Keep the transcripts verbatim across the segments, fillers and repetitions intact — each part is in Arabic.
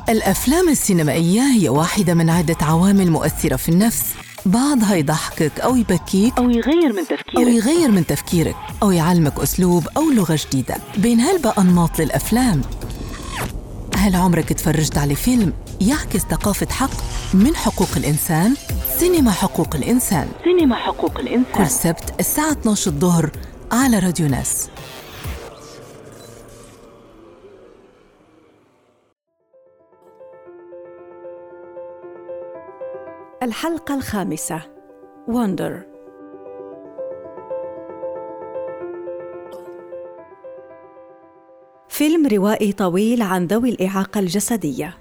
الأفلام السينمائية هي واحدة من عدة عوامل مؤثرة في النفس، بعضها يضحكك أو يبكيك أو يغير من تفكيرك أو يغير من تفكيرك أو يعلمك أسلوب أو لغة جديدة. بين هالبقى أنماط للأفلام. هل عمرك تفرجت على فيلم يعكس ثقافة حق من حقوق الإنسان؟ سينما حقوق الإنسان. سينما حقوق الإنسان كل سبت الساعة اثني عشر الظهر على راديو ناس. الحلقة الخامسة Wonder. فيلم روائي طويل عن ذوي الإعاقة الجسدية.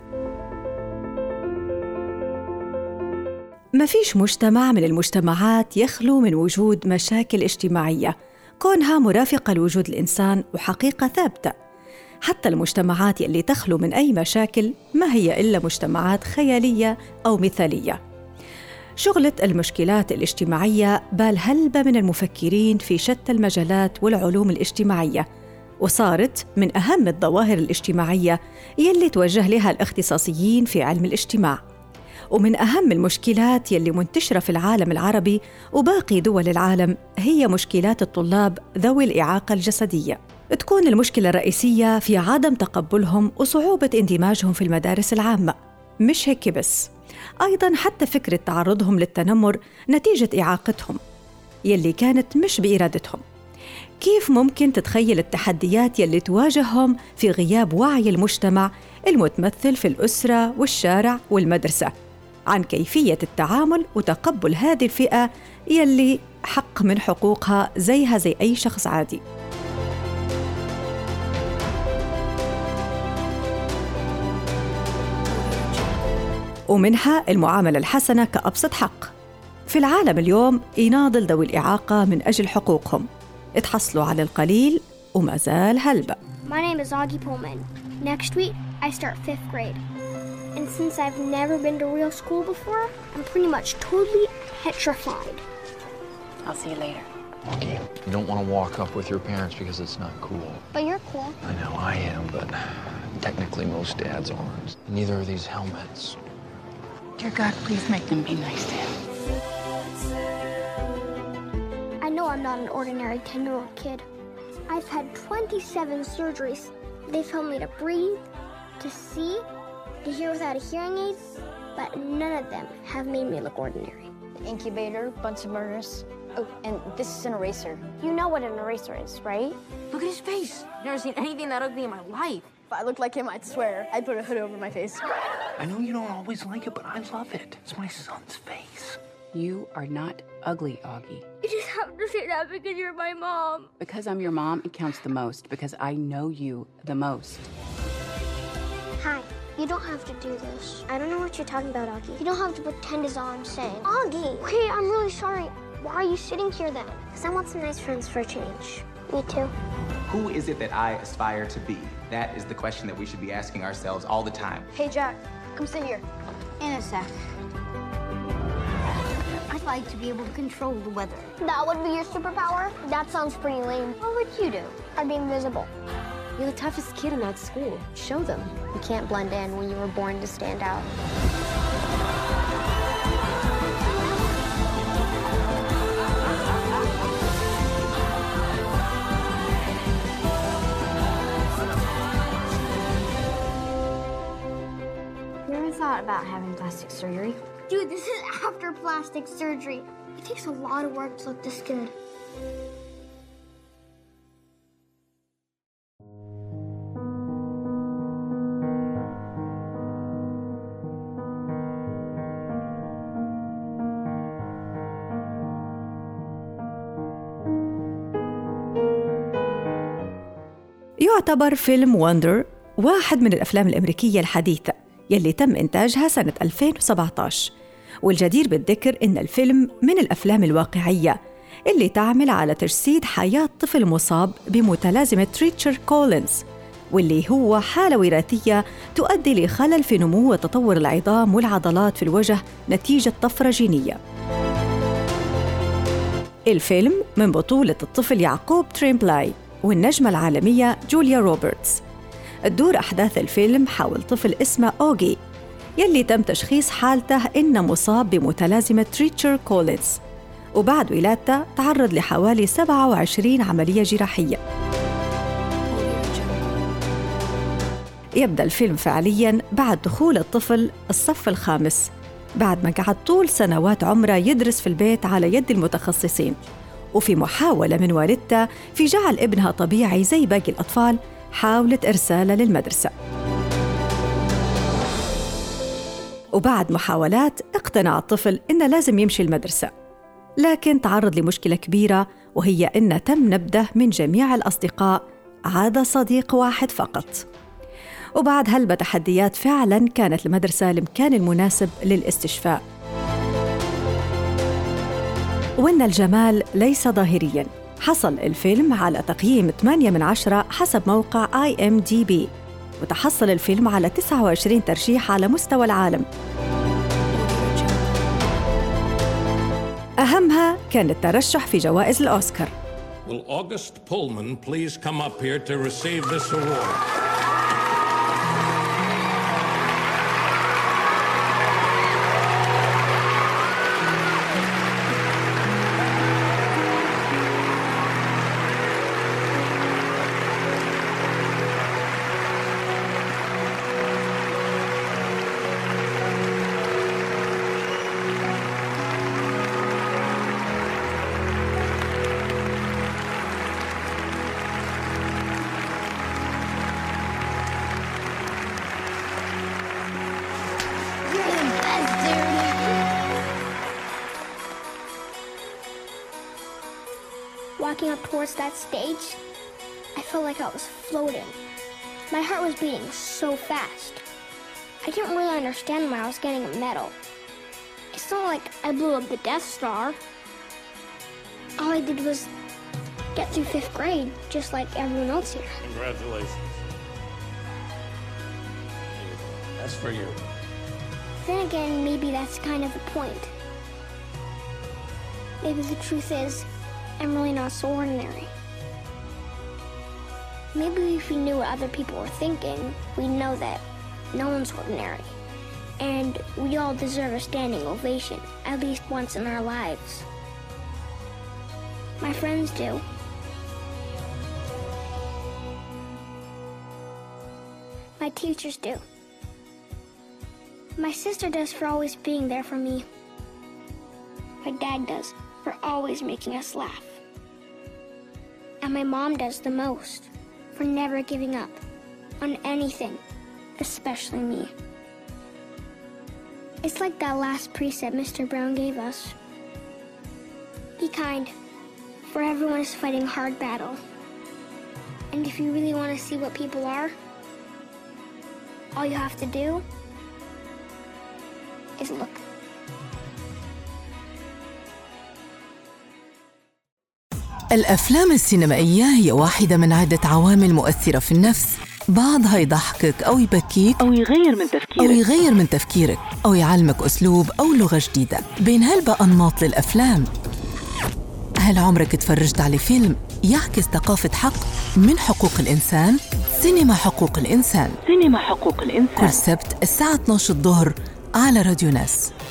ما فيش مجتمع من المجتمعات يخلو من وجود مشاكل اجتماعية كونها مرافقة لوجود الإنسان وحقيقة ثابتة. حتى المجتمعات يلي تخلو من أي مشاكل ما هي إلا مجتمعات خيالية أو مثالية. شغلت المشكلات الاجتماعية بال هلبة من المفكرين في شتى المجالات والعلوم الاجتماعية، وصارت من أهم الظواهر الاجتماعية يلي توجه لها الاختصاصيين في علم الاجتماع. ومن أهم المشكلات يلي منتشرة في العالم العربي وباقي دول العالم هي مشكلات الطلاب ذوي الإعاقة الجسدية. تكون المشكلة الرئيسية في عدم تقبلهم وصعوبة اندماجهم في المدارس العامة. مش هيك بس، أيضاً حتى فكرة تعرضهم للتنمر نتيجة إعاقتهم يلي كانت مش بإرادتهم. كيف ممكن تتخيل التحديات يلي تواجههم في غياب وعي المجتمع المتمثل في الأسرة والشارع والمدرسة عن كيفية التعامل وتقبل هذه الفئة يلي حق من حقوقها زيها زي أي شخص عادي. ومنها المعاملة الحسنة كأبسط حق. في العالم اليوم يناضل ذوي الإعاقة من أجل حقوقهم، اتحصلوا على القليل وما زال هلبة. My name is Augie Pullman. Next week, I start fifth grade. And since I've never been to real school before, I'm pretty much totally petrified. I'll see you later. Okay, you don't want to walk up with your parents because it's not cool. But you're cool. I know I am, but technically most dads aren't. Neither are these helmets. Dear God, please make them be nice to him. I know I'm not an ordinary ten-year-old kid. I've had twenty-seven surgeries. They've helped me to breathe, to see, to hear without a hearing aid, but none of them have made me look ordinary. Incubator, Bunsen burners. Oh, and this is an eraser. You know what an eraser is, right? Look at his face. Never seen anything that ugly in my life. If I looked like him, I'd swear I'd put a hood over my face. I know you don't always like it, but I love it. It's my son's face. You are not ugly, Augie. You just have to say that because you're my mom. Because I'm your mom, it counts the most. Because I know you the most. Hi. You don't have to do this. I don't know what you're talking about, Augie. You don't have to pretend is all I'm saying. Augie! Okay, I'm really sorry. Why are you sitting here then? Because I want some nice friends for a change. Me too. Who is it that I aspire to be? That is the question that we should be asking ourselves all the time. Hey, Jack, come sit here. In a sec. I'd like to be able to control the weather. That would be your superpower? That sounds pretty lame. What would you do? I'd be invisible. You're the toughest kid in that school. Show them. You can't blend in when you were born to stand out. You ever thought about having plastic surgery? Dude, this is after plastic surgery. It takes a lot of work to look this good. يعتبر فيلم وندر واحد من الأفلام الأمريكية الحديثة يلي تم إنتاجها سنة ألفين وسبعة عشر، والجدير بالذكر إن الفيلم من الأفلام الواقعية اللي تعمل على تجسيد حياة طفل مصاب بمتلازمة تريتشر كولينز، واللي هو حالة وراثية تؤدي لخلل في نمو وتطور العظام والعضلات في الوجه نتيجة طفرة جينية. الفيلم من بطولة الطفل يعقوب تريمبلاي والنجمة العالمية جوليا روبرتس. تدور أحداث الفيلم حول طفل اسمه أوغي يلي تم تشخيص حالته إنه مصاب بمتلازمة تريتشر كولينز، وبعد ولادته تعرض لحوالي سبعة وعشرين عملية جراحية. يبدأ الفيلم فعلياً بعد دخول الطفل الصف الخامس، بعد ما قعد طول سنوات عمره يدرس في البيت على يد المتخصصين، وفي محاولة من والدته في جعل ابنها طبيعي زي باقي الأطفال حاولت إرساله للمدرسة. وبعد محاولات اقتنع الطفل إنه لازم يمشي المدرسة، لكن تعرض لمشكلة كبيرة، وهي إنه تم نبذه من جميع الأصدقاء عدا صديق واحد فقط. وبعد هلبة تحديات فعلاً كانت المدرسة المكان المناسب للاستشفاء. وإن الجمال ليس ظاهرياً، حصل الفيلم على تقييم ثمانية من عشرة حسب موقع آي إم دي بي، وتحصل الفيلم على تسعة وعشرين ترشيح على مستوى العالم. أهمها كان الترشح في جوائز الأوسكار. Will August Pullman please come up here to receive this award? Walking up towards that stage, I felt like I was floating. My heart was beating so fast. I didn't really understand why I was getting a medal. It's not like I blew up the Death Star. All I did was get through fifth grade, just like everyone else here. Congratulations. That's for you. Then again, maybe that's kind of the point. Maybe the truth is, I'm really not so ordinary. Maybe if we knew what other people were thinking, we'd know that no one's ordinary. And we all deserve a standing ovation, at least once in our lives. My friends do. My teachers do. My sister does for always being there for me. My dad does for always making us laugh. And my mom does the most for never giving up on anything, especially me. It's like that last precept Mister Brown gave us. Be kind, for everyone is fighting a hard battle. And if you really want to see what people are, all you have to do is look. الأفلام السينمائية هي واحدة من عدة عوامل مؤثرة في النفس، بعضها يضحكك أو يبكيك أو يغير من تفكيرك أو يغير من تفكيرك أو يعلمك أسلوب أو لغة جديدة. بين هلبة أنماط للأفلام. هل عمرك تفرجت على فيلم يعكس ثقافة حق من حقوق الإنسان؟ سينما حقوق الإنسان. سينما حقوق الإنسان كل سبت الساعة اثناشر الظهر على راديو ناس.